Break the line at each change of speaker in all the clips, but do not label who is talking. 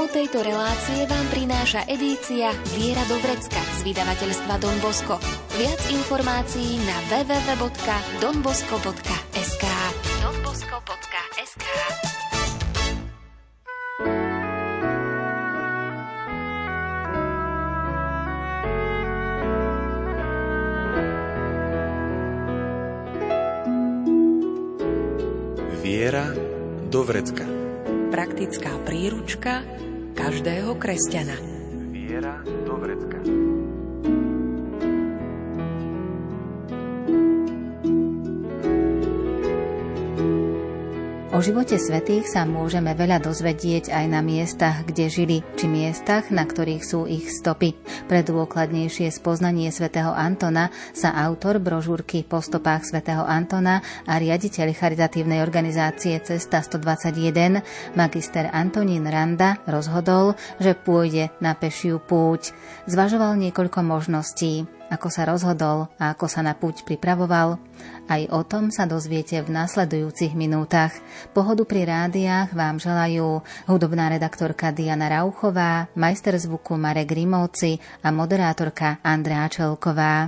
Tému tejto relácie vám prináša edícia Viera do vrecka z vydavateľstva Don Bosco. Viac informácií na www.donbosco.sk.
Viera do vrecka.
Praktická príručka každého kresťana.
Viera do vrecka.
O živote svätých sa môžeme veľa dozvedieť aj na miestach, kde žili, či miestach, na ktorých sú ich stopy. Pre dôkladnejšie spoznanie svätého Antona sa autor brožúrky Po stopách svätého Antona a riaditeľ charitatívnej organizácie Cesta 121, magister Antonín Randa, rozhodol, že pôjde na pešiu púť. Zvažoval niekoľko možností. Ako sa rozhodol a ako sa na púť pripravoval, aj o tom sa dozviete v nasledujúcich minútach. Pohodu pri rádiách vám želajú hudobná redaktorka Diana Rauchová, majster zvuku Marek Grimovci a moderátorka Andrea Čelková.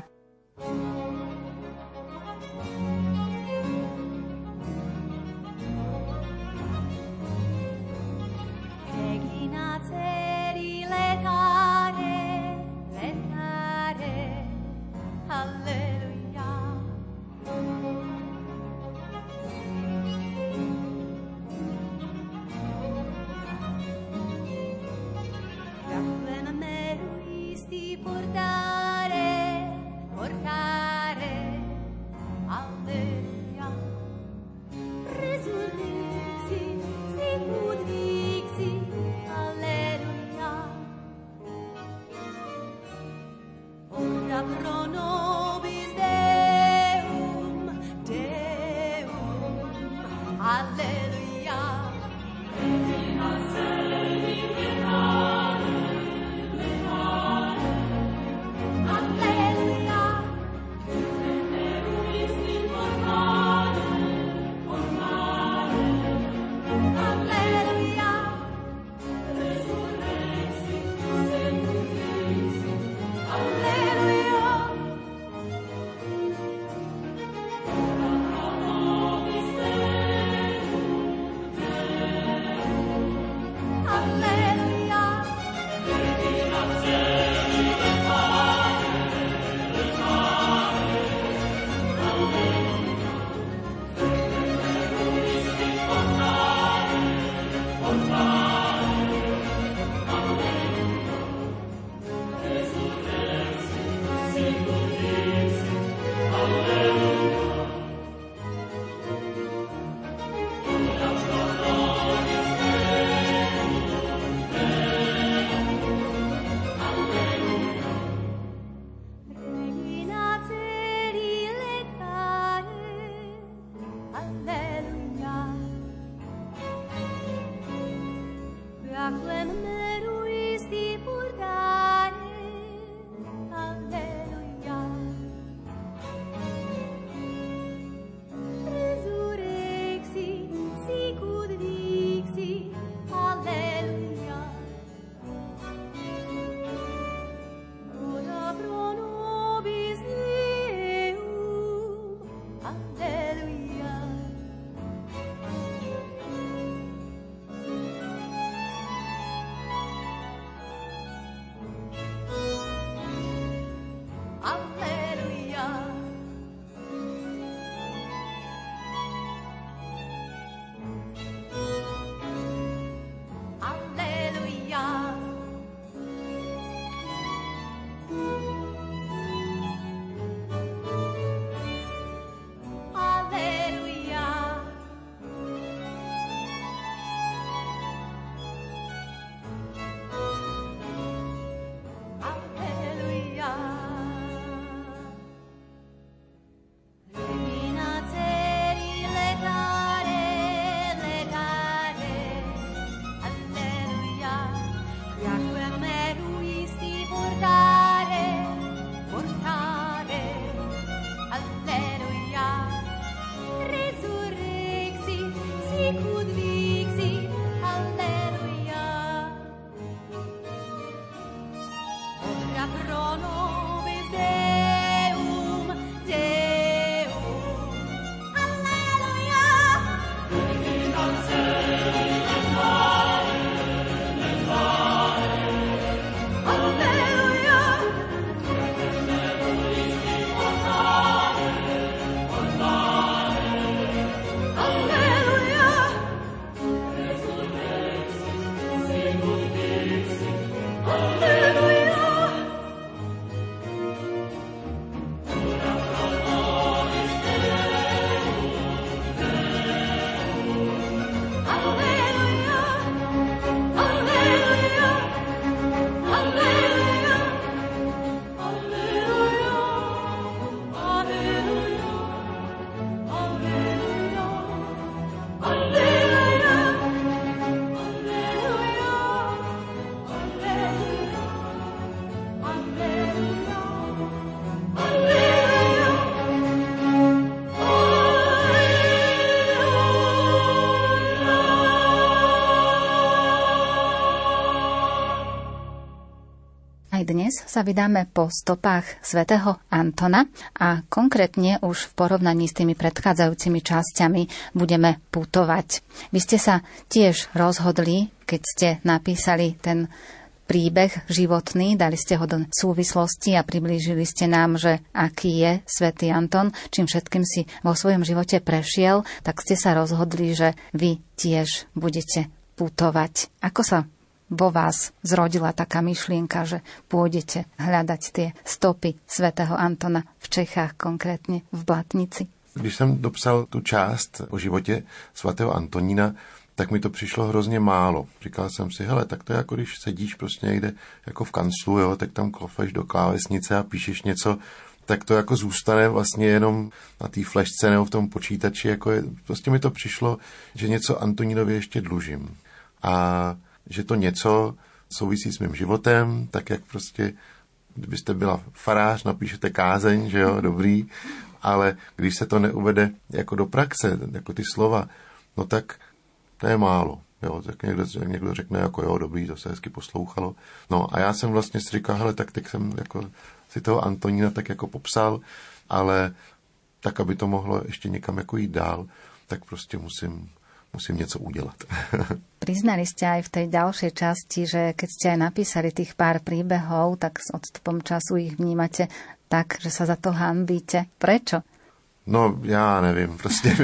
dnes sa vydáme po stopách svätého Antona a konkrétne už v porovnaní s tými predchádzajúcimi časťami budeme putovať. Vy ste sa tiež rozhodli, keď ste napísali ten príbeh životný, dali ste ho do súvislosti a priblížili ste nám, že aký je svätý Anton, čím všetkým si vo svojom živote prešiel, tak ste sa rozhodli, že vy tiež budete putovať. Ako sa vo vás zrodila taká myšlienka, že pôjdete hľadať tie stopy svätého Antona v Čechách, konkrétne v Blatnici?
Když jsem dopsal tu část o životě svatého Antonína, tak mi to přišlo hrozně málo. Říkal jsem si, hele, tak to je jako když sedíš prostě někde jako v kanclu, jo, tak tam klopeš do klávesnice a píšeš něco, tak to jako zůstane vlastně jenom na té flešce nebo v tom počítači. Jako prostě mi to přišlo, že něco Antonínovi ještě dlužím. A že to něco souvisí s mým životem, tak jak prostě, kdybyste byla farář, napíšete kázeň, že jo, dobrý, ale když se to neuvede jako do praxe, jako ty slova, no tak to je málo. Jo, tak někdo řekne jako jo, dobrý, to se hezky poslouchalo. No a já jsem vlastně si říkal, hele, tak teď jsem jako si toho Antonína tak jako popsal, ale tak, aby to mohlo ještě někam jako jít dál, tak prostě musím něco udělat.
Priznali ste aj v tej ďalšej časti, že keď ste aj napísali tých pár príbehov, tak s odstupom času ich vnímate tak, že sa za to hanbíte. Prečo?
No, já nevím,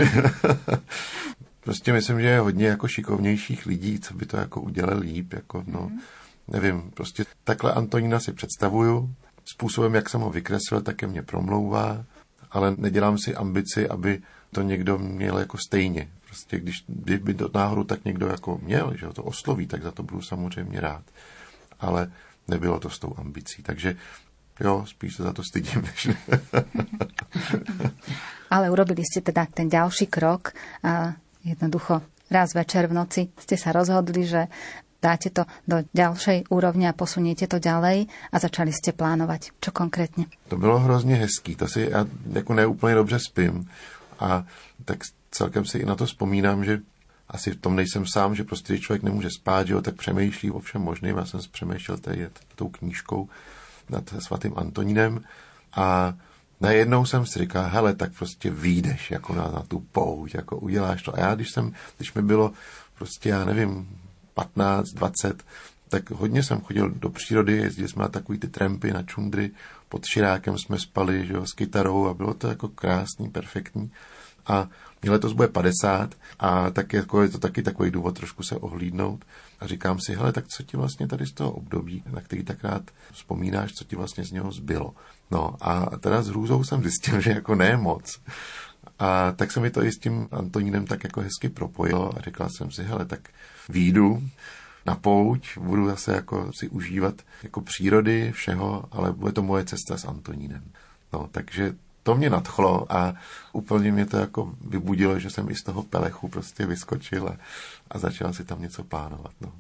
prostě myslím, že je hodně jako šikovnějších lidí, co by to jako udělali líp, jako nevím, prostě takhle Antonína si představuju, způsobem, jak jsem ho vykreslil, také mě promlouvá, ale nedělám si ambici, aby to někdo měl jako stejně. Prostě kdyby do náhodou tak někdo jako měl, že ho to osloví, tak za to budu samozřejmě rád. Ale nebylo to s tou ambicí, takže jo, spíš se za to stydím.
Ale urobili ste teda ten ďalší krok a jednoducho raz večer v noci ste sa rozhodli, že dáte to do ďalšej úrovne a posuniete to ďalej a začali ste plánovať. Čo konkrétne?
To bylo hrozně hezký, to si já jako neúplně dobře spím a tak celkem si i na to vzpomínám, že asi v tom nejsem sám, že prostě když člověk nemůže spát, že jo, tak přemýšlí o všem možným. Já jsem přemýšlel tady tou knížkou nad svatým Antonínem a najednou jsem si říkal, hele, tak prostě vyjdeš jako na tu pouť, jako uděláš to. A já, když mi bylo prostě, já nevím, 15, 20, tak hodně jsem chodil do přírody, jezdili jsme na takový ty trampy, na čundry, pod Širákem jsme spali, že jo, s kytarou a bylo to jako krásný, perfektní. A mě letos bude 50 a tak jako je to taky takový důvod trošku se ohlídnout. A říkám si, hele, tak co ti vlastně tady z toho období, na který tak rád vzpomínáš, co ti vlastně z něho zbylo. No a teda s hrůzou jsem zjistil, že jako ne moc. A tak se mi to i s tím Antonínem tak jako hezky propojilo a říkal jsem si, hele, tak výjdu na pouť, budu zase jako si užívat jako přírody, všeho, ale bude to moje cesta s Antonínem. No, takže to mě nadchlo a úplně mě to jako vybudilo, že jsem i z toho pelechu prostě vyskočil a začal si tam něco plánovat. No.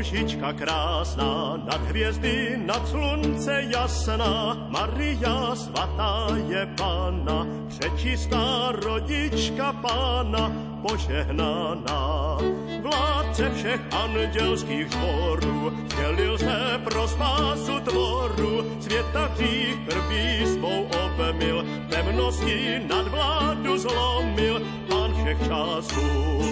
Růžička krásná, nad hvězdy, nad slunce jasná, Maria svatá je Panna, přečistá rodička Pána, požehnaná. Vládce všech andělských sborů, vtělil se pro spásu tvoru, světa hřích krví svou obmyl, temnosti nad vládu zlomil, Pán všech časů.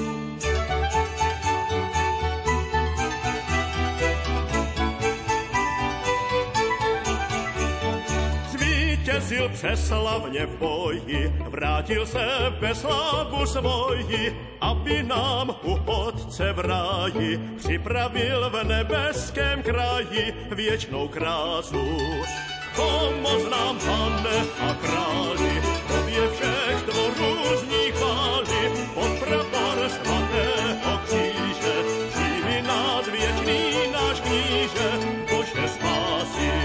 Zvítězil přeslavně v boji, vrátil se ve slávu svoji, aby nám u Otce v ráji připravil v nebeském kraji věčnou krásu. Pomoz nám, Pane a králi, tobě všech tvorů zní chvály, pod prapor svatého kříže, přijmi nás věčný náš kníže, Bože spásy.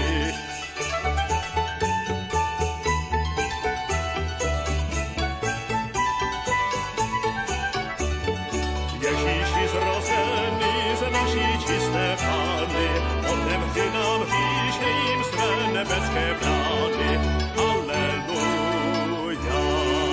Ježíši zrozený z naší čisté Pány, otevři nám hříšným své nebeské brány. Aleluja.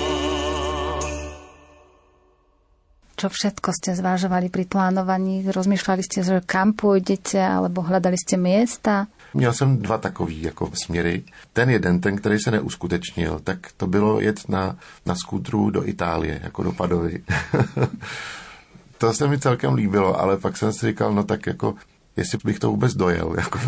Čo všetko ste zvážovali pri plánovaní? Rozmýšľali ste, že kam pôjdete, alebo hľadali ste miesta?
Měl jsem dva takový jako směry. Ten jeden, ten, který se neuskutečnil, tak to bylo jet na skútru do Itálie, jako do Padovy. To se mi celkem líbilo, ale pak jsem si říkal, no tak jako, jestli bych to vůbec dojel, jako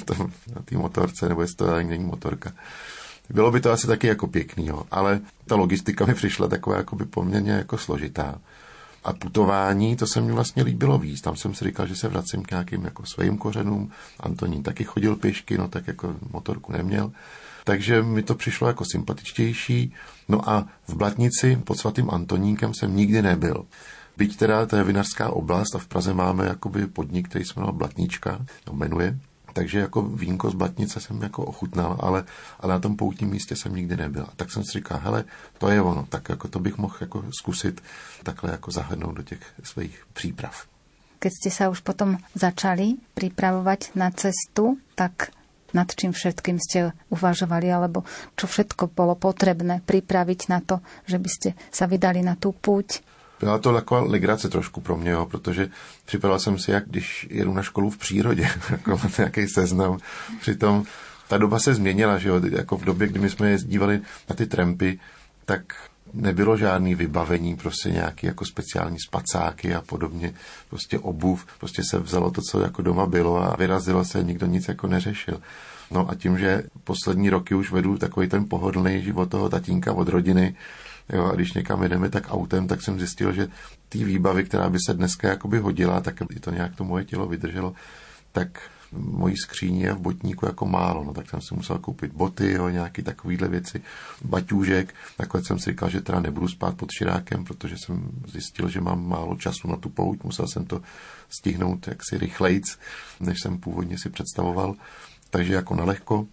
na té motorce, nebo jestli to ani není motorka. Bylo by to asi taky jako pěkný, jo. Ale ta logistika mi přišla taková jakoby poměrně jako složitá. A putování, to se mi vlastně líbilo víc. Tam jsem si říkal, že se vracím k nějakým jako svým kořenům. Antonín taky chodil pěšky, no tak jako motorku neměl. Takže mi to přišlo jako sympatičtější. No a v Blatnici pod svatým Antonínem jsem nikdy nebyl. Byť teda to je vinařská oblast a v Praze máme jakoby podnik, který se jmenuje Blatnička, jmenuje. Takže jako vínko z Blatnice jsem jako ochutnal, ale na tom poutním místě jsem nikdy nebyl. A tak jsem si říkal, hele, to je ono, tak jako to bych mohl jako zkusit takhle jako zahrnout do těch svých příprav.
Keď ste sa už potom začali pripravovať na cestu, tak nad čím všetkým ste uvažovali, alebo čo všetko bolo potrebné pripraviť na to, že by ste sa vydali na tú púť?
Byla to taková legrace trošku pro mě, jo, protože připadal jsem si, jak když jedu na školu v přírodě, jako nějaký seznam. Přitom ta doba se změnila, že jo, jako v době, kdy my jsme jezdívali na ty trampy, tak nebylo žádný vybavení, prostě nějaký jako speciální spacáky a podobně, prostě obuv, prostě se vzalo to, co jako doma bylo a vyrazilo se, nikdo nic jako neřešil. No a tím, že poslední roky už vedu takový ten pohodlný život toho tatínka od rodiny, jo, a když někam jedeme tak autem, tak jsem zjistil, že ty výbavy, která by se dneska jakoby hodila, tak i to nějak to moje tělo vydrželo, tak mojí skříně je v botníku jako málo, no tak jsem si musel koupit boty, jo, nějaký takovýhle věci, baťůžek, takhle jsem si říkal, že teda nebudu spát pod širákem, protože jsem zjistil, že mám málo času na tu pouť, musel jsem to stihnout jaksi rychlejc, než jsem původně si představoval, takže jako nalehko.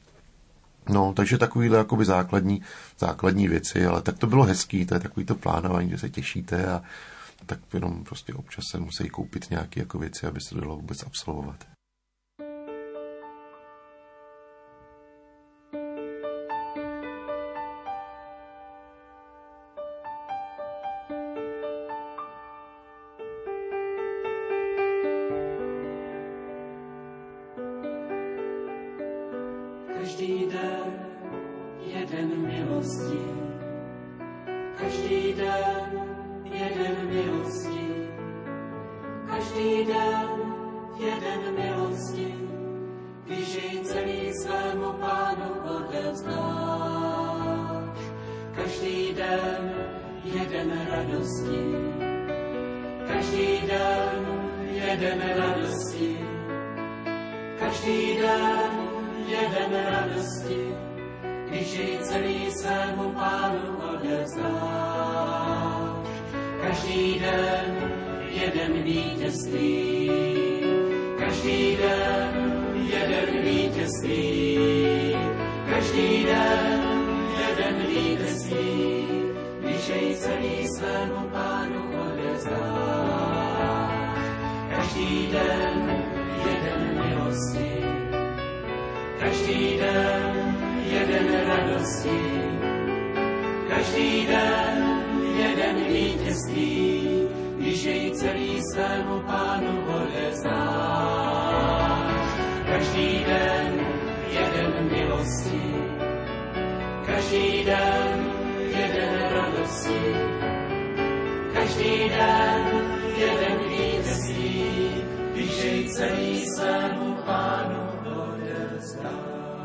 No, takže takovýhle jakoby základní věci, ale tak to bylo hezký, to je takový to plánování, že se těšíte a tak jenom prostě občas se musí koupit nějaké jako věci, aby se to dalo vůbec absolvovat.
Každý den jeden milosti, každý den jeden milosti, každý den jeden milosti, když jej celý svému Pánu odevzdáš. Každý den jeden radosti, každý den jeden radosti, každý den jeden radosti, když jej celý svému Pánu odevzdáš. Každý den jeden vítězství, každý den jeden vítězství, každý den jeden vítězství, když jej celý svému Pánu odevzdáš. Každý den milosti. Každý den jeden radosti, každý den jeden vítězství, když jej celý svému Pánu odevzdáš. Každý den jeden milosti, každý den jeden radosti, každý den jeden vítězství, když jej celý svému Pánu odevzdáš.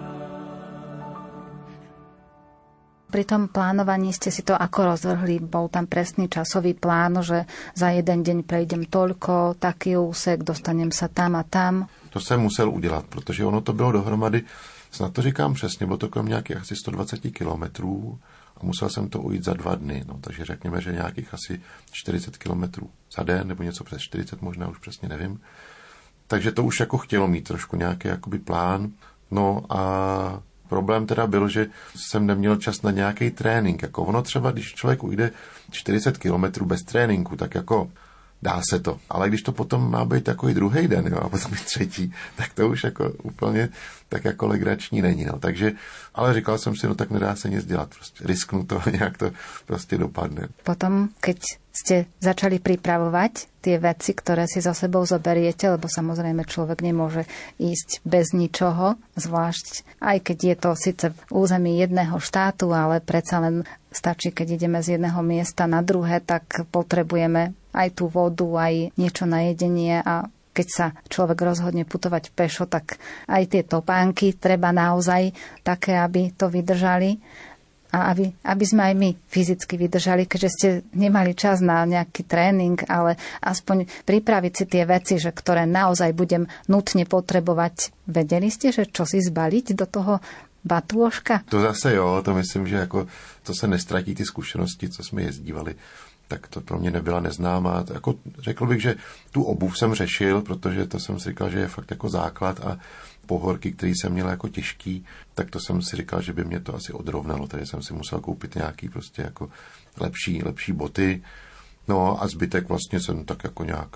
Pri tom plánovaní ste si to ako rozvrhli? Bol tam presný časový plán, že za jeden deň prejdem toľko, taký úsek, dostanem sa tam a tam?
To jsem musel udělat, protože ono to bylo dohromady, snad to říkám přesně, bylo to kolem nějakých asi 120 kilometrů a musel jsem to ujít za 2 dny, no, takže řekněme, že nějakých asi 40 kilometrů za den, nebo něco přes 40, možná už přesně nevím. Takže to už jako chtělo mít trošku nějaký jakoby plán, no a problém teda byl, že jsem neměl čas na nějaký trénink. Jako ono třeba, když člověk ujde 40 kilometrů bez tréninku, tak jako dá se to. Ale když to potom má být takový druhý den, jo, a potom i třetí, tak to už jako úplně tak jako legrační není. No. Takže, ale říkal jsem si, no tak nedá se nic dělat. Prostě risknu to, nějak to prostě dopadne.
Potom, keď ste začali pripravovať tie veci, ktoré si so sebou zoberiete, lebo samozrejme človek nemôže ísť bez ničoho, zvlášť aj keď je to síce v území jedného štátu, ale predsa len stačí, keď ideme z jedného miesta na druhé, tak potrebujeme aj tú vodu, aj niečo na jedenie a keď sa človek rozhodne putovať pešo, tak aj tie topánky treba naozaj také, aby to vydržali. A aby sme aj my fyzicky vydržali, keďže ste nemali čas na nejaký tréning, ale aspoň pripraviť si tie veci, že ktoré naozaj budem nutne potrebovať. Vedeli ste, že čo si zbaliť do toho batôžka?
To zase jo, to myslím, že jako to se nestratí ty zkušenosti, co jsme jezdívali. Tak to pro mě nebyla neznámá. Jako řekl bych, že tu obuv jsem řešil, protože to jsem si říkal, že je fakt jako základ a pohorky, který jsem měl jako těžký, tak to jsem si říkal, že by mě to asi odrovnalo, takže jsem si musel koupit nějaký prostě jako lepší boty. No a zbytek vlastně jsem tak jako nějak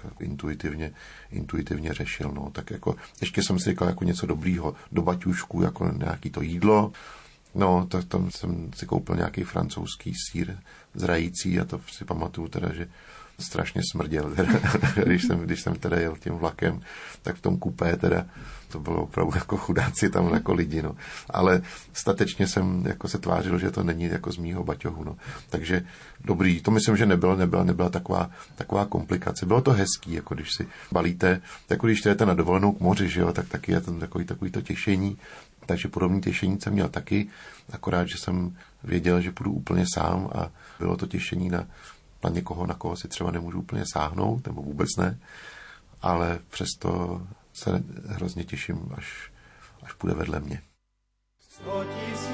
intuitivně řešil, no. Tak jako ještě jsem si říkal jako něco dobrýho do baťušku, jako nějaký to jídlo. No, tak tam jsem si koupil nějaký francouzský sýr zrající a to si pamatuju teda, že strašně smrděl, teda, když jsem teda jel tím vlakem, tak v tom kupé teda to bylo opravdu jako chudáci tam jako lidi, no. Ale statečně jsem jako se tvářil, že to není jako z mýho baťohu, no. Takže dobrý, to myslím, že nebyla taková komplikace. Bylo to hezký, jako když si balíte, jako když jdete na dovolenou k moři, že jo, tak taky je tam takový to těšení. Takže podobný těšení jsem měl taky, akorát, že jsem věděl, že půjdu úplně sám a bylo to těšení na někoho, na koho si třeba nemůžu úplně sáhnout, nebo vůbec ne, ale přesto se hrozně těším, až půjde vedle mě.
100 000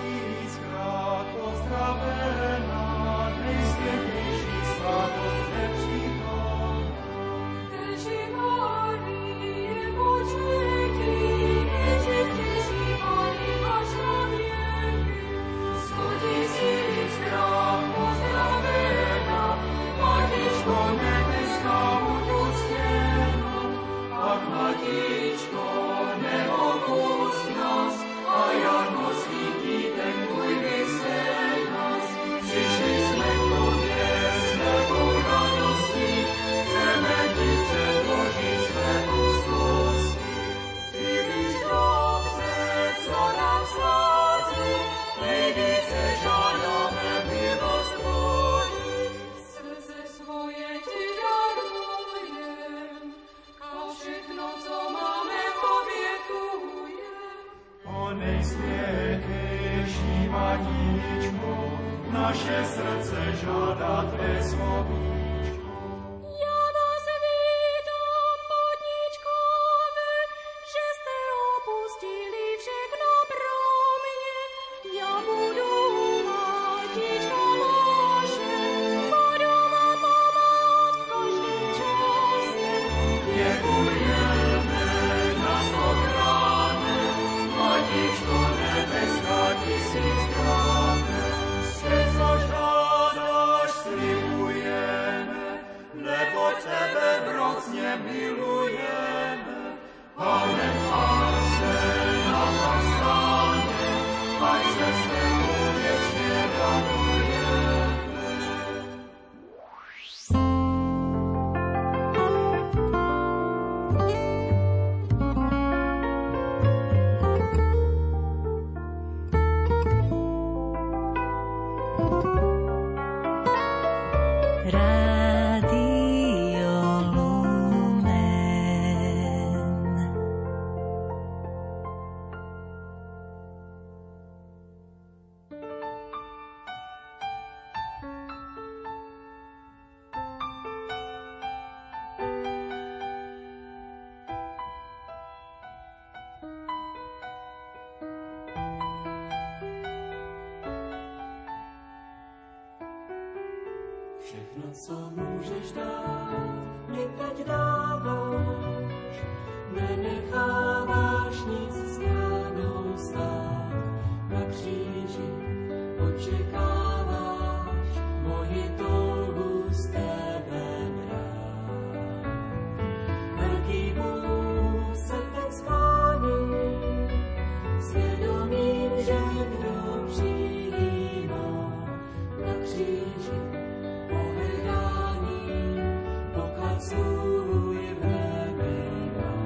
krát pozdravená, Kriste Krishna, svatost nepřítom. Teži Marie, počujte, nejčistejší Pani vaša věry. 100 000 krát pozdravená, Matičko nebeská uctěná, ach Matičko, neopust nás, a Jarno svítí ten tvůj vysel nás. Přišli jsme k tobě s velkou radostí, chceme ti předložit své úzkosti. Ty víš dobře, co nám schází, nejvíce žádáme milost tvojí. Srdce svoje ti
Všechno, co můžeš dát, mi teď dáváš, nenecháváš nic stranou stát. Na kříži očekáváš moji touhu z tebe brát. Velký Bůh se teď sklání, svědomím, že kdo přijímá na kříži svůj v nebi má.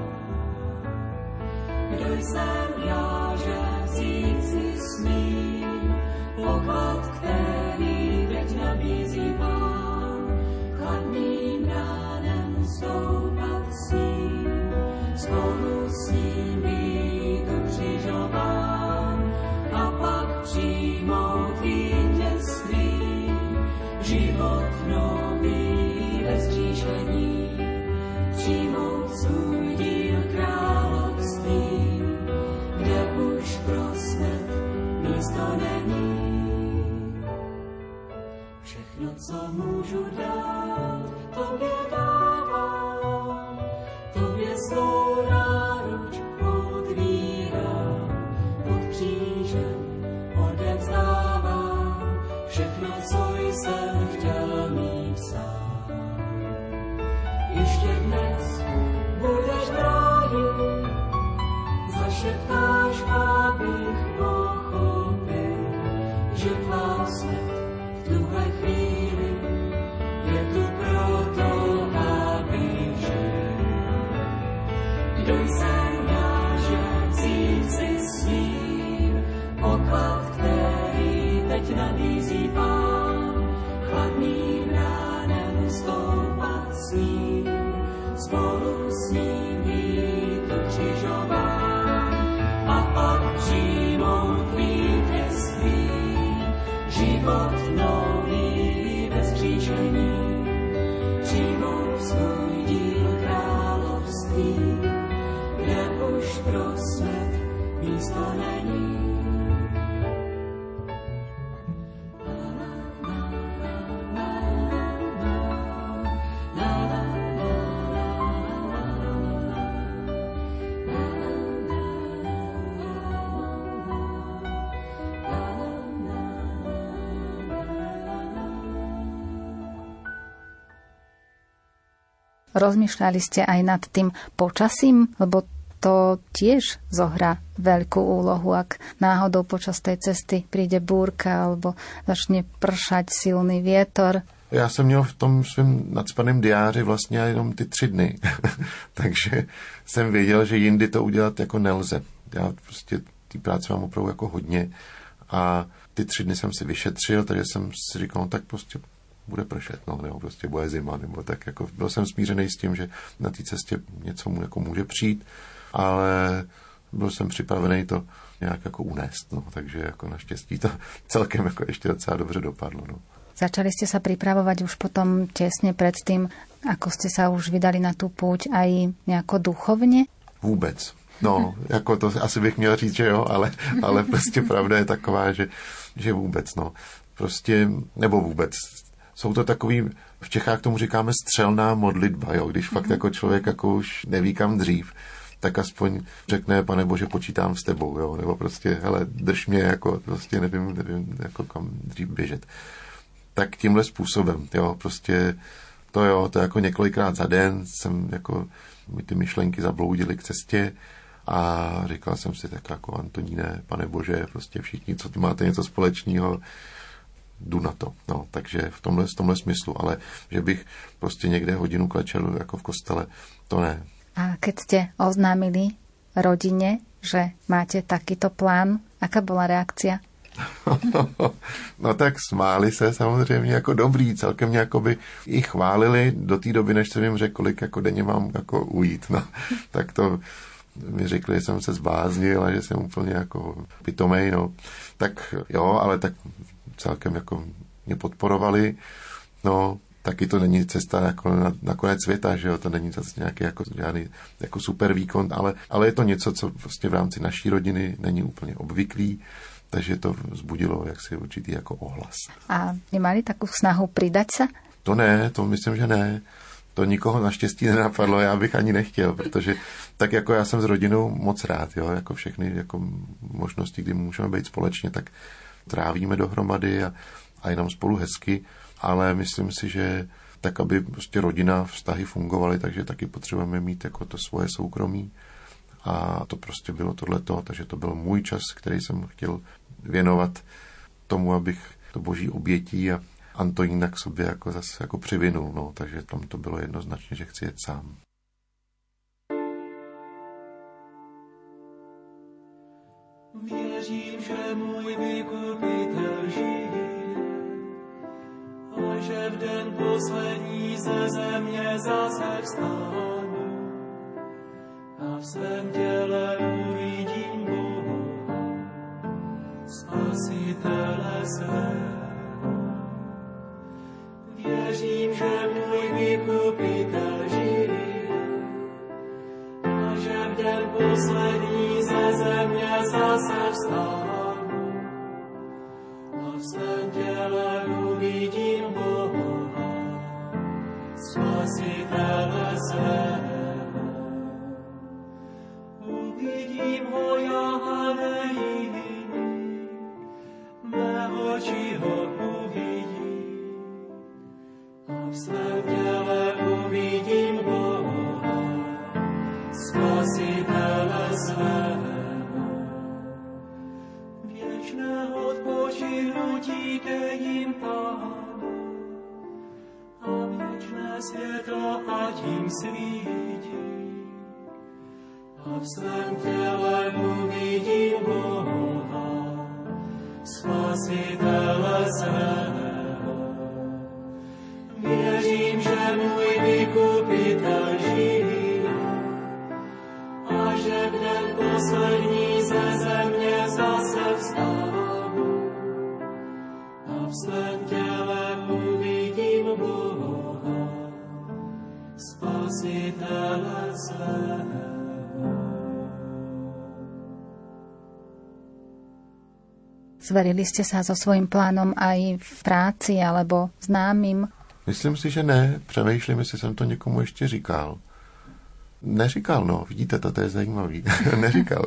Kdo jsem já, že vzít si smím poklad, který teď nabízí Pán. Chladným ránem stoupat s ním, spolu s ním být ukřižován a pak přijmout vítězství, život nový bez říšení, přijmout svůj díl království, kde už pro smrt místo není. Všechno, co můžu dát, tobě dávám, tobě svou náruč otvírám, pod křížem odevzdávám všechno, co jsem chtěl mít sám. Ještě dnes budeš bránit, zašeptáš, abych pochopil, že tvá smrt v tuhle chvíli je tu proto, abych žil. Kdo jsem já, že vzít si smím poklad, který teď nabízí Pán, chladným ránem stoupat s ním, spolu s ním být ukřižován a pak přijmout vítězství, život nový bez křížení, přijmout svůj díl království, kde už pro smrt místo není.
Rozmýšľali ste aj nad tým počasím, lebo to tiež zohrá veľkú úlohu, ak náhodou počas tej cesty príde búrka alebo začne pršať silný vietor.
Já jsem měl v tom svém nacpaném diáři vlastně jenom ty 3 dny, takže jsem věděl, že jindy to udělat jako nelze. Já prostě ty práce mám opravdu jako hodně a ty 3 dny jsem si vyšetřil, takže jsem si říkal, no tak prostě bude pršet, no, nebo prostě bude zima, nebo tak jako byl jsem smířený s tím, že na té cestě něco mu jako může přijít, ale byl jsem připravený to nějak jako unést, no, takže jako naštěstí to celkem jako ještě docela dobře dopadlo, no.
Začali ste sa pripravovať už potom tesne pred tým, ako ste sa už vydali na tú púť aj nejako duchovne?
Vůbec. No, jako to asi bych měl říct, že jo, ale prostě pravda je taková, že vůbec, no. Prostě, nebo vůbec. Jsou to takový, v Čechách tomu říkáme střelná modlitba, jo, když fakt jako člověk jako už neví kam dřív, tak aspoň řekne, Pane Bože, počítám s tebou, jo, nebo prostě, hele, drž mě, jako prostě nevím, jako kam dřív běžet. Tak tímhle způsobem, jo, prostě to jako několikrát za den jsem jako, mi ty myšlenky zabloudily k cestě a říkal jsem si tak jako Antoníne, Pane Bože, prostě všichni, co tu máte něco společného, jdu na to, no, takže v tomhle smyslu, ale že bych prostě někde hodinu klečel jako v kostele, to ne.
A keď ste oznámili rodine, že máte takýto plán, aká bola reakcia?
No tak smáli se samozřejmě jako dobrý, celkem mě jakoby i chválili do té doby, než jsem jim řekl, kolik jako denně mám jako ujít. No, tak to mi řekli, že jsem se zbláznil a že jsem úplně jako pitomej, no. Tak jo, ale tak celkem jako mě podporovali, no. Taky to není cesta jako na konec světa, že jo, to není zase nějaký jako žádný jako super výkon, ale je to něco, co vlastně v rámci naší rodiny není úplně obvyklý, takže to vzbudilo jaksi určitý jako ohlas.
A nemali takú snahu pridať sa?
To ne, to myslím, že ne. To nikoho naštěstí nenapadlo, já bych ani nechtěl, protože tak jako já jsem s rodinou moc rád, jo, jako všechny jako možnosti, kdy můžeme být společně, tak trávíme dohromady a jenom spolu hezky, ale myslím si, že tak, aby prostě rodina, vztahy fungovaly, takže taky potřebujeme mít jako to svoje soukromí a to prostě bylo tohleto, takže to byl můj čas, který jsem chtěl věnovat tomu, abych to boží obětí a Antonína k sobě jako zase jako přivinul, no, takže tam to bylo jednoznačně, že chci jet sám.
Věřím, že můj vykupitel žije a že v den poslední ze země zase vstánu a v svém těle uvidím Boha, Spasitele svého. Věřím, že můj vykupitel žije a že v den poslední ze země zase vstánu a v svém těle uvidím Boha, Spasitele svého. Uvidím ho já a ne jiný, mé oči ho uvidí a v svém těle uvidím Boha, Spasitele svého. Věčné odpočinutí dejím Pánu a věčné světlo ať jim svítí a v svém těle uvidím Boha, Spasitele svého. Věřím, že můj vykupitel žije a že v den poslední ze země zase vstánu a v svém těle uvidím Boha, Spasitele svého.
Zverili ste sa so svojím plánom aj v práci alebo známym?
Myslím si, že ne. Přemýšlím, jestli jsem to někomu ještě říkal. Neříkal, no. Vidíte, to je zajímavý. Neříkal.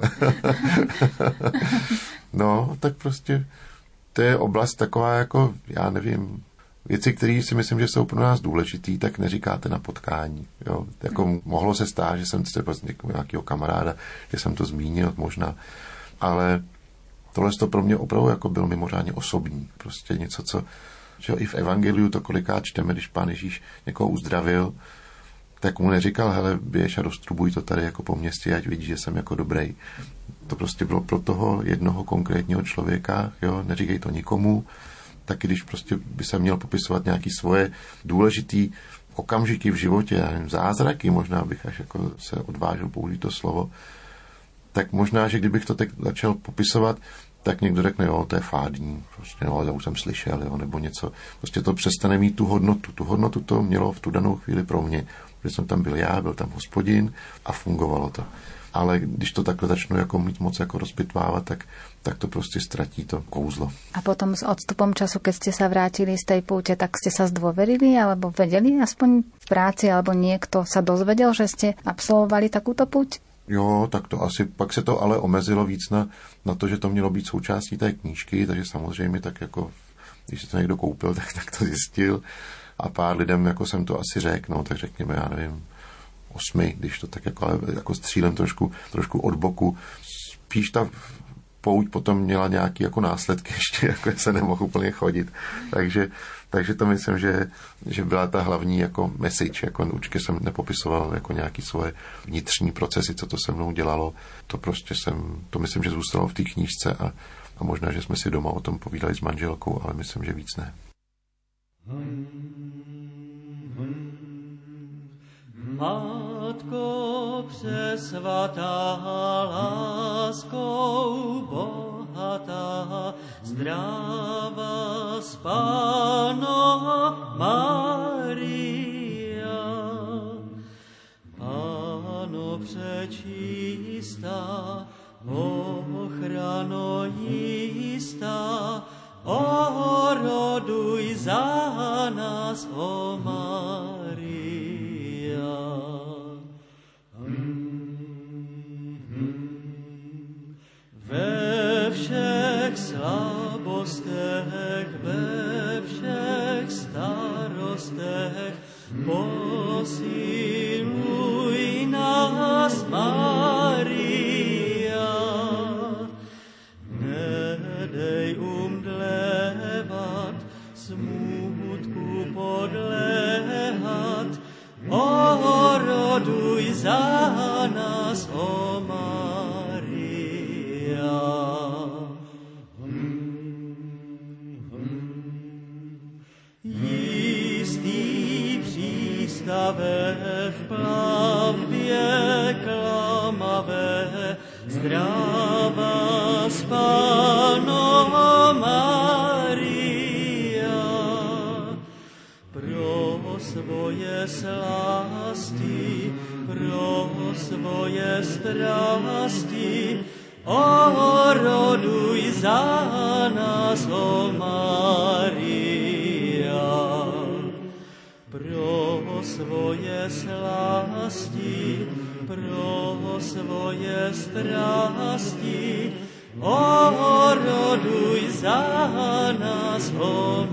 No, tak prostě to je oblast taková jako, já nevím, věci, které si myslím, že jsou pro nás důležitý, tak neříkáte na potkání. Jo? Jako mohlo se stát, že jsem třeba z nějakého kamaráda, že jsem to zmínil možná, ale tohle to pro mě opravdu jako byl mimořádně osobní. Prostě něco, co že i v evangeliu to kolikrát čteme, když Pán Ježíš někoho uzdravil, tak mu neříkal, hele, běž a roztrubuj to tady jako po městě, ať vidíš, že jsem jako dobrý. To prostě bylo pro toho jednoho konkrétního člověka, jo, neříkej to nikomu, taky když prostě by se měl popisovat nějaký svoje důležitý okamžiky v životě, já nevím, zázraky, možná bych až jako se odvážil použít to slovo, tak možná, že kdybych to teď začal popisovat, tak někdo řekne, jo, to je fádní, prostě, no, já už jsem slyšel, jo, nebo něco. Prostě to přestane mít tu hodnotu. Tu hodnotu to mělo v tu danou chvíli pro mě, protože jsem tam byl já, byl tam Hospodin a fungovalo to. Ale když to takhle začnu jako mít moc jako rozpitvávat, tak to prostě ztratí to kouzlo.
A potom s odstupom času, keď ste sa vrátili z tej púte, tak ste sa zdôverili, alebo vedeli aspoň v práci, alebo niekto sa dozvedel, že ste absolvovali takúto púť?
Jo, tak to asi, pak se to ale omezilo víc na to, že to mělo být součástí té knížky, takže samozřejmě tak jako, když se to někdo koupil, tak to zjistil a pár lidem jako jsem to asi řekl, no, tak řekněme, já nevím, 8, když to tak jako, ale jako střílem trošku od boku. Spíš ta pouť potom měla nějaký jako následky ještě, jako se nemohl úplně chodit, takže to myslím, že byla ta hlavní jako message, jako určitě jsem nepopisoval jako nějaký svoje vnitřní procesy, co to se mnou dělalo. To prostě to myslím, že zůstalo v té knížce A možná, že jsme si doma o tom povídali s manželkou, ale myslím, že víc ne.
Matko přesvatá, láskou bohatá, zdravá Panno Mária. Panno přečistá, ochrano jistá, oroduj za nás, o Mária. Ve všech slabostech, ve všech starostech, posiluj nás, Mária. Nedej umdlevat, smutku podléhat, oroduj za nás, o Mária. Jistý přístave v plavbě klamavé, zdravá Panno Mária. Pro svoje slasti, pro svoje strasti, oroduj za nás, o Mária. Pro svoje slasti, pro svoje strasti, oroduj za nás, o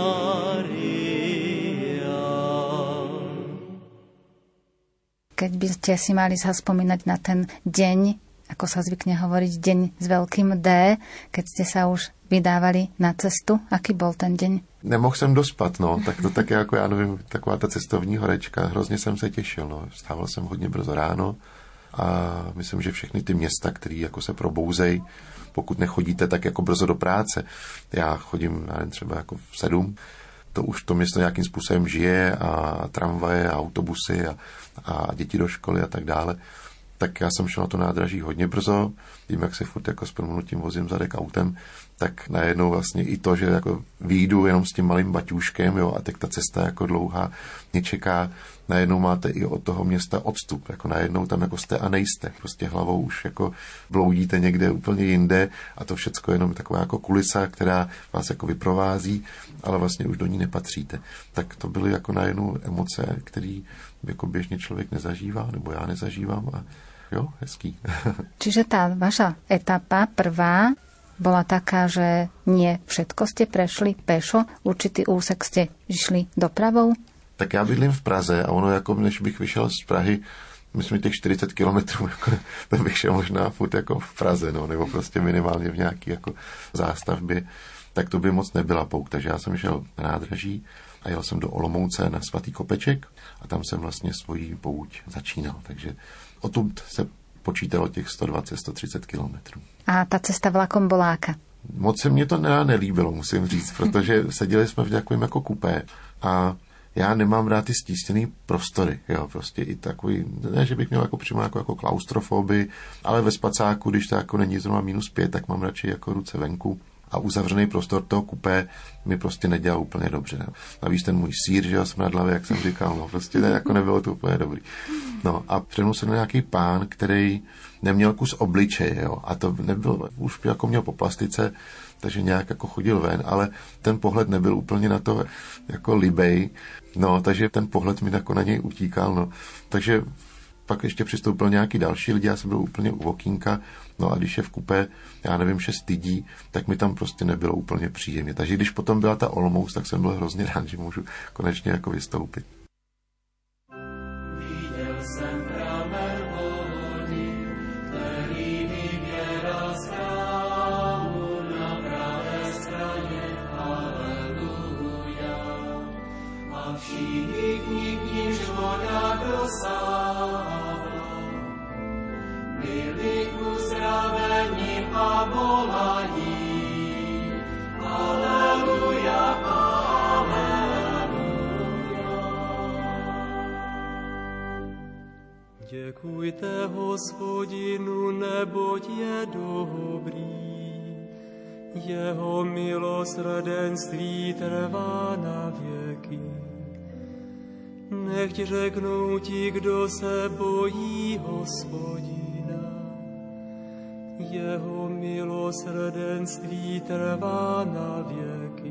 Mária.
Keď by ste si mali zaspomínať na ten deň, ako sa zvykne hovoriť, deň s veľkým D, keď ste sa už vydávali na cestu, aký bol ten deň?
Nemohl jsem dospat, no, tak to tak jako, já nevím, taková ta cestovní horečka, hrozně jsem se těšil, no, vstával jsem hodně brzo ráno a myslím, že všechny ty města, které jako se probouzej, pokud nechodíte tak jako brzo do práce, já chodím, já nevím, třeba jako v 7, to už to město nějakým způsobem žije a tramvaje a autobusy a děti do školy a tak dále, tak já jsem šel na to nádraží hodně brzo, tím, jak se furt jako s promluvnutím vozím zadek autem, tak najednou vlastně i to, že jako vyjdu jenom s tím malým baťůškem, jo, a teď ta cesta jako dlouhá mě čeká, najednou máte i od toho města odstup, jako najednou tam jako jste a nejste, prostě hlavou už jako bloudíte někde úplně jinde a to všecko je jenom taková jako kulisa, která vás jako vyprovází, ale vlastně už do ní nepatříte. Tak to byly jako najednou emoce, které jako běžně člověk nezažívá, nebo já nezažívám a jo, hezký.
Čiže tá vaša etapa prvá bola taká, že nie všetko ste prešli pešo, určitý úsek ste išli dopravou?
Tak já bydlím v Praze a ono jako, než bych vyšel z Prahy, myslím, těch 40 kilometrů, jako, to bych šel možná furt jako v Praze, no, nebo prostě minimálně v nějaký jako zástavbě, tak to by moc nebyla pouk. Takže já jsem šel na nádraží a jel jsem do Olomouce na Svatý Kopeček a tam jsem vlastně svoji pouť začínal. Takže odtud se počítalo těch 120-130 kilometrů.
A ta cesta vlakom bola aká?
Moc se mě to nelíbilo, musím říct, protože seděli jsme v takovém jako kupé a já nemám rád ty stísněný prostory, jo, prostě i takový, ne, že bych měl jako přímo jako klaustrofobii, ale ve spacáku, když to jako není zrovna -5, tak mám radši jako ruce venku a uzavřený prostor toho kupé mi prostě nedělal úplně dobře. Ne? Navíc ten můj sýr, že jo, smradlavý, jak jsem říkal, no prostě ne, jako nebylo to úplně dobrý. No a přednou se nějaký pán, který neměl kus obličeje, jo, a to nebyl, už jako měl po plastice, takže nějak jako chodil ven, ale ten pohled nebyl úplně na to jako libej, no, takže ten pohled mi jako na něj utíkal, no, takže pak ještě přistoupil nějaký další lidi, já jsem byl úplně u okýnka, no a když je v kupé, já nevím, 6 lidí, tak mi tam prostě nebylo úplně příjemně. Takže když potom byla ta Olomouc, tak jsem byl hrozně rád, že můžu konečně jako vystoupit.
Viděl jsem pramen vody, který vyběral z chrámu na pravé straně, haleluja. A všichni k níž voda dosáhla, byli uzdraveni a volají Děkujte Hospodinu, neboť je dobrý. Jeho milosrdenství trvá na věky. Nechť řeknou ti, kdo se bojí Hospodina. Jeho milosrdenství trvá na věky.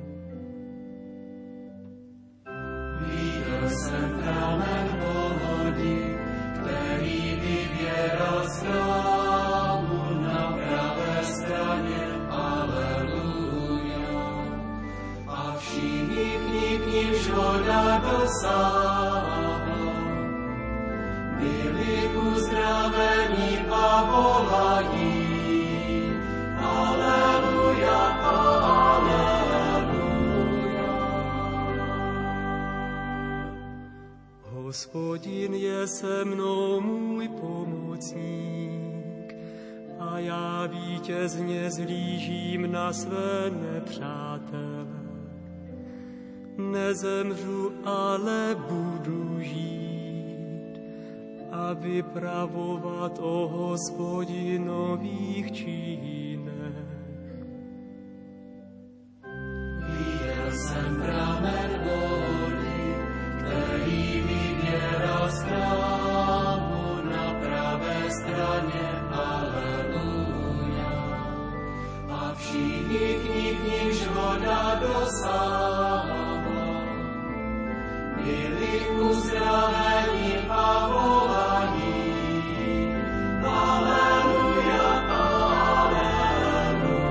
Viděl jsem pramen vody, který vyvěral z chrámu na pravé straně. Aleluja. A všichni k ním voda dosáhla. Byli uzdraveni a volají. Aleluja, aleluja. Hospodin je se mnou, můj pomocník, a já vítězně zhlížím na své nepřátele. Nezemřu, ale budu žít a vypravovat o Hospodinových činech. Viděl jsem pramen vody, který vyvěral z chrámu na pravé straně. Aleluja. A všichni k nímž voda dosáhla, byli uzdraveni a volají. Aleluja, aleluja.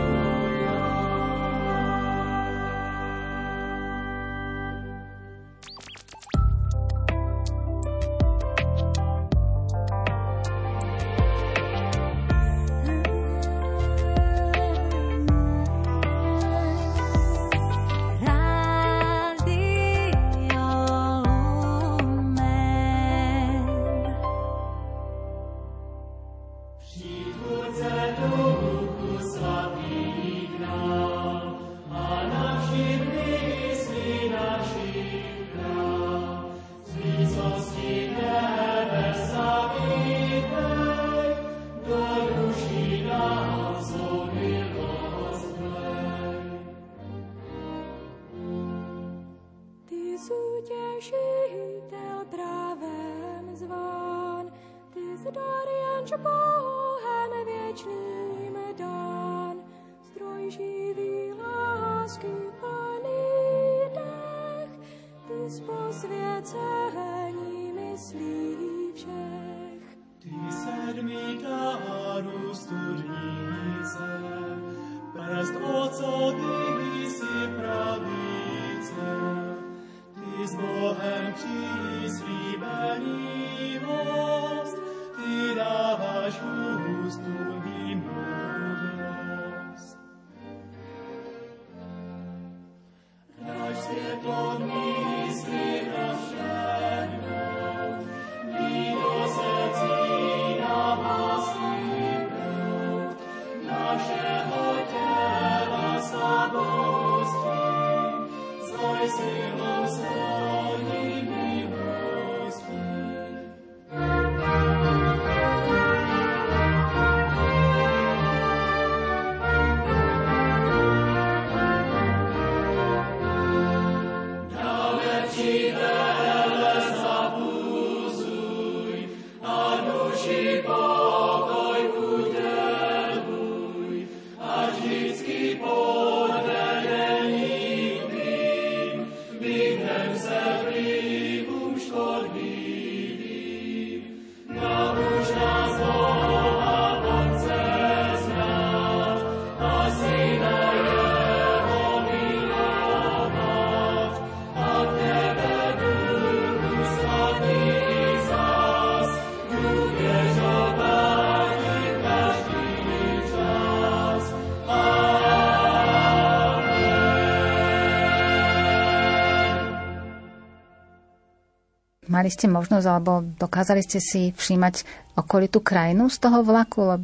Mali ste možnosť, alebo dokázali ste si všímať okolitú krajinu z toho vlaku, lebo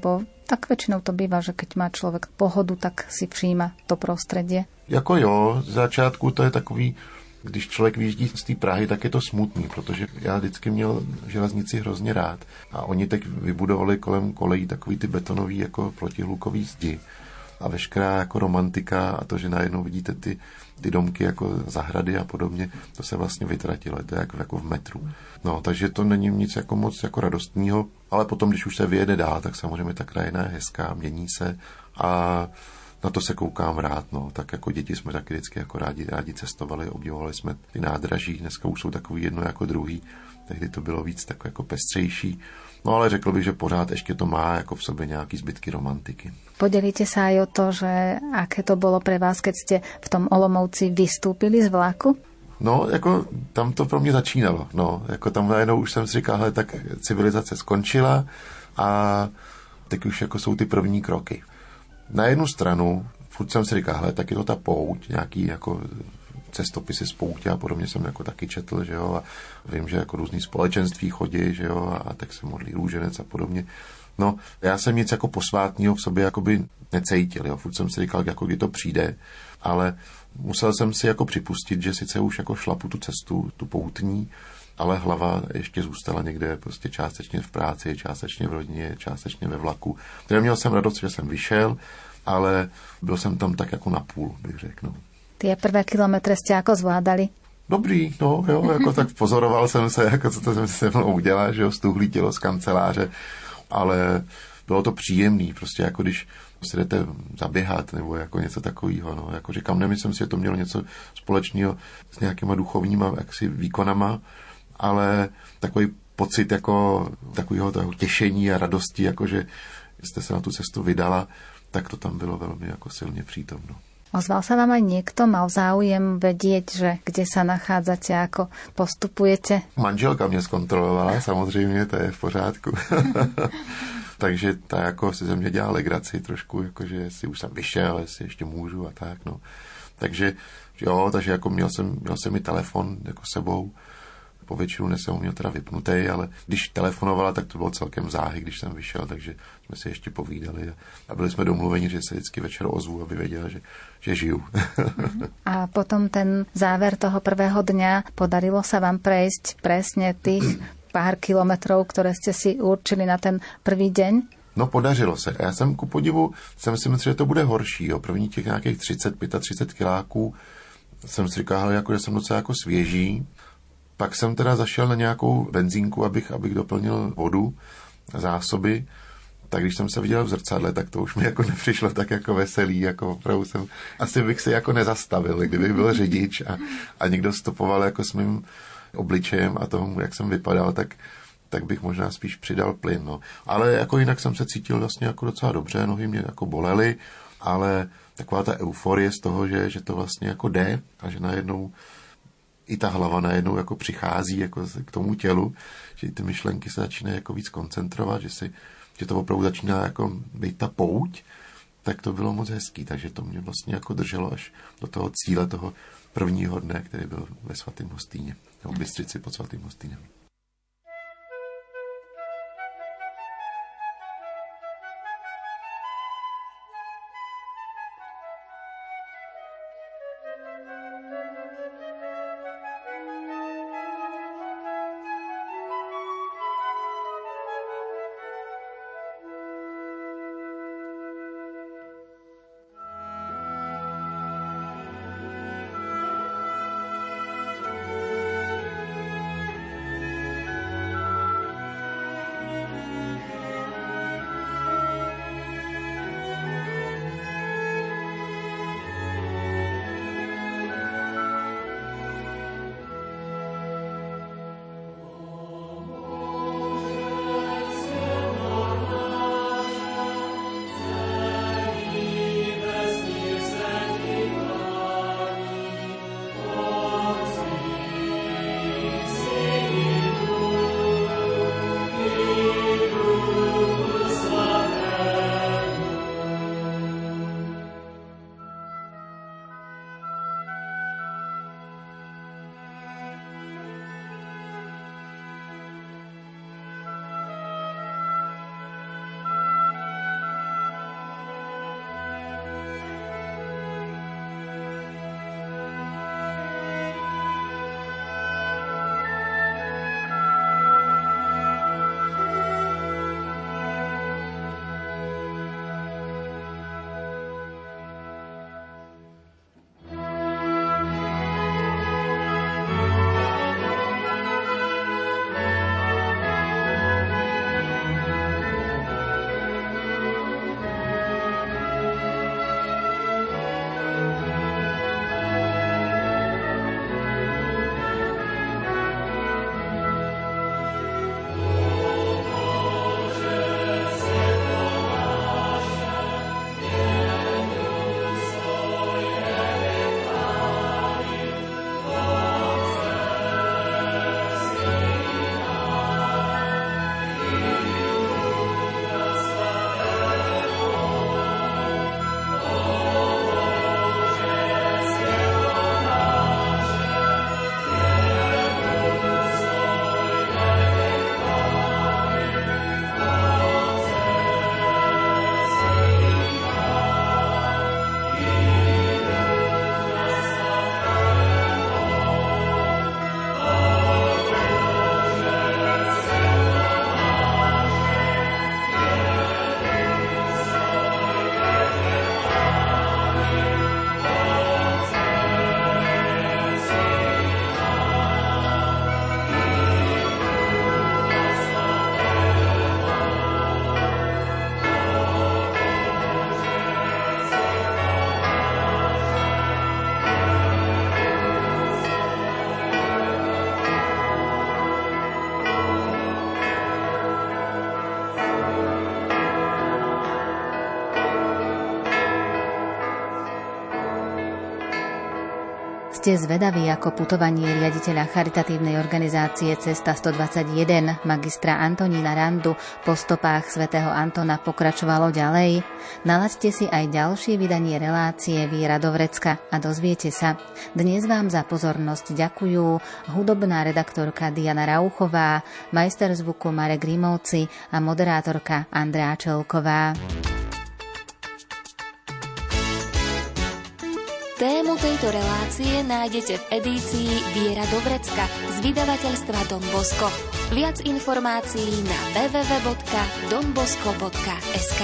Tak väčšinou to býva, že keď má človek pohodu, tak si všíma to prostredie.
Jako jo, z začátku to je takový, když člověk vyjíždí z té Prahy, tak je to smutný, protože já vždycky měl železnici hrozně rád. A oni teď vybudovali kolem kolejí takový ty betonový jako protihlukový zdi. A veškerá jako romantika a to, že najednou vidíte ty domky jako zahrady a podobně, to se vlastně vytratilo. To je jako v metru. No, takže to není nic jako moc jako radostného, ale potom, když už se vyjede dál, tak samozřejmě ta krajina je hezká, mění se a na to se koukám rád, no. Tak jako děti jsme taky vždycky jako rádi cestovali, obdivovali jsme ty nádraží, dneska už jsou takový jedno jako druhý, tehdy to bylo víc takové jako pestřejší. No ale řekl bych, že pořád ještě to má jako v sobě nějaký zbytky romantiky.
Podelíte sa aj o to, že aké to bolo pre vás, keď ste v tom Olomouci vystúpili z vlaku?
No, jako tam to pro mě začínalo, no. Jako tam najednou už jsem si říkal, hele, tak civilizace skončila a teď už jako jsou ty první kroky. Na jednu stranu, furt jsem si říkal, hele, tak je to ta pouť, nějaký jako cestopisy z poutě a podobně jsem jako taky četl, že jo, a vím, že jako různý společenství chodí, že jo, a tak se modlí růženec a podobně. No, já jsem nic jako posvátného v sobě jakoby necítil, jo, furt jsem si říkal, jako kdy to přijde, ale musel jsem si jako připustit, že sice už jako šlapu tu cestu, tu poutní, ale hlava ještě zůstala někde prostě částečně v práci, částečně v rodině, částečně ve vlaku. Takže měl jsem radost, že jsem vyšel, ale byl jsem tam tak jako na půl, bych řekl. No.
Tie prvé kilometre ste ako zvládali?
Dobrý, no, jo, jako tak pozoroval jsem se, jako co to jsem se mnou udělal, že jo, stuhlý tělo z kanceláře, ale bylo to příjemný, prostě jako když si jdete zaběhat nebo jako něco takového, no, jako říkám, nemyslím si, že to mělo něco společného s nějakýma duchovníma jaksi výkonama, ale takový pocit jako takového toho těšení a radosti, jako že jste se na tu cestu vydala, tak to tam bylo velmi jako silně přítomno.
Ozval sa vám aj niekto? Mal záujem vedieť, že kde sa nachádzate, ako postupujete?
Manželka mě zkontrolovala, samozřejmě, to je v pořádku. Takže ta jako si ze mě dělala legraci trošku, jakože jestli už jsem vyšel, jestli ještě můžu a tak, no. Takže jo, takže jako měl jsem i telefon jako sebou. Po většinu jsem ho měl teda vypnutý, ale když telefonovala, tak to bylo celkem záhy, když jsem vyšel, takže jsme si ještě povídali a byli jsme domluveni, že se vždycky večer ozvu, aby věděla, že žiju.
A potom ten záver toho prvého dňa, podarilo sa vám prejsť presne tých pár kilometrov, ktoré ste si určili na ten prvý deň?
No, podařilo se. Já jsem ku podivu, jsem si myslel, že to bude horší. Jo. První těch nějakých 30-35 kiláků jsem si říkal, jako, že jsem docela jako svěží. Pak jsem teda zašel na nějakou benzínku, abych doplnil vodu, zásoby. Tak když jsem se viděl v zrcadle, tak to už mi jako nepřišlo tak jako veselý, jako opravdu jsem, asi bych se jako nezastavil, kdybych byl řidič a někdo stopoval jako s mým obličejem a tomu, jak jsem vypadal, tak bych možná spíš přidal plyn, no. Ale jako jinak jsem se cítil vlastně jako docela dobře, nohy mě jako bolely, ale taková ta euforie z toho, že to vlastně jako jde a že najednou i ta hlava najednou jako přichází jako k tomu tělu, že ty myšlenky se začínají jako víc koncentrovat, že to opravdu začíná jako být ta pouť, tak to bylo moc hezký, takže to mě vlastně jako drželo až do toho cíle toho prvního dne, který byl ve Svatém Hostýně, nebo v Bystřici pod Svatým Hostýnem.
ste zvedaví, ako putovanie riaditeľa charitatívnej organizácie Cesta 121, magistra Antonína Randu, po stopách svätého Antona pokračovalo ďalej? Nalaďte si aj ďalšie vydanie relácie Viera do vrecka a dozviete sa. Dnes vám za pozornosť ďakujú hudobná redaktorka Diana Rauchová, majster zvuku Marek Grimovci a moderátorka Andrea Čelková.
Tému tejto relácie nájdete v edícii Viera do vrecka z vydavateľstva Don Bosco. Viac informácií na www.donbosco.sk.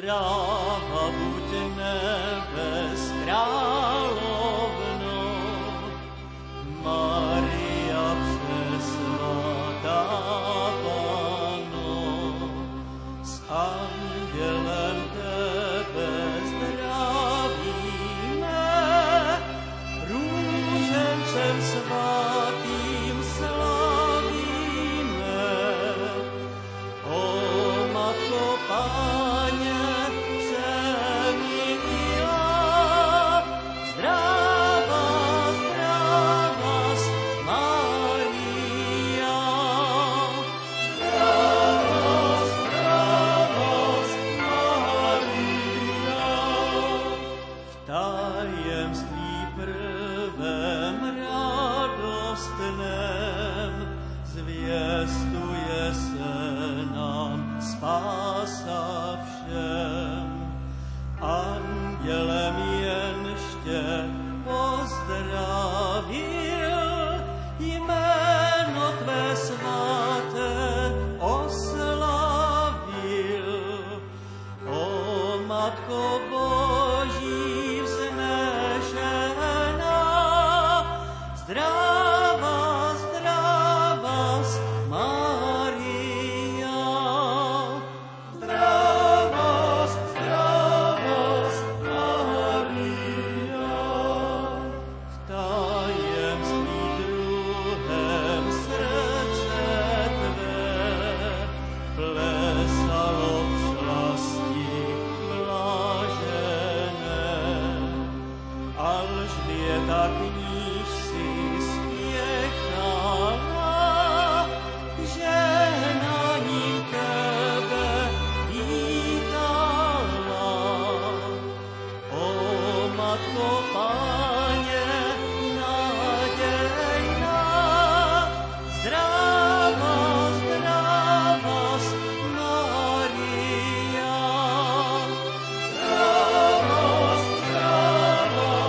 Zdráva buď nebes královno, Maria přesvatá Panno, s andělem tebe zdravíme, růžencem svatým slavíme. O Matko Páně, zvěstuje se nám spása všem. Andělem jenště pozdravil, jméno tvé svaté oslavil. O Matko Boží vznešená, zdravá, zdravá Maria. Zdravá, zdravá Maria. V tajemství druhém srdce tvé plesalo v slasti blažené. Alžběta kníž si spěchala, žehnáním tebe vítala. O Matko Páně, nadějná, zdravá, zdravá Maria. Zdravá, zdravá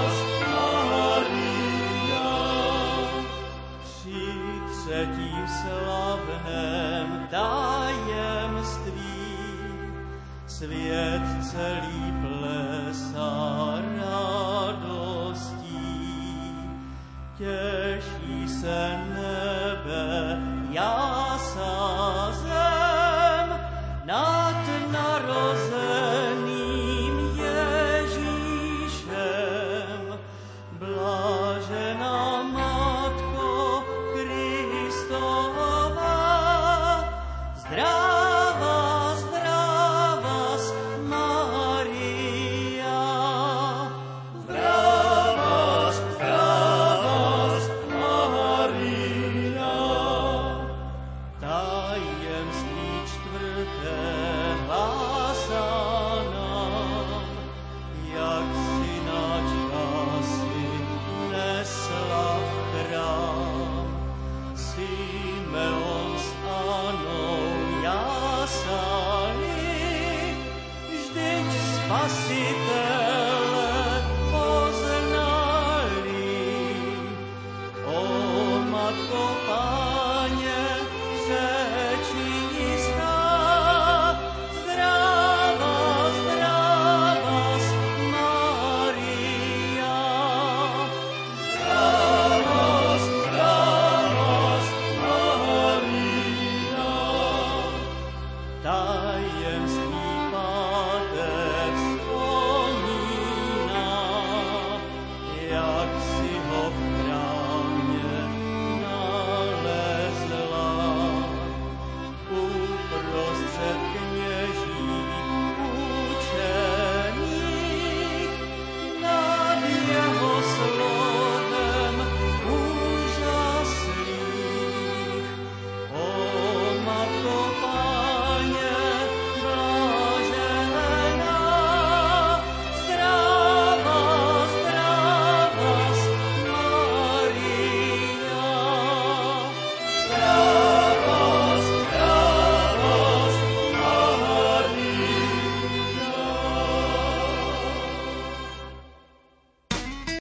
Maria. Při třetím slavném tajemství svět celý plesá radostí, těší se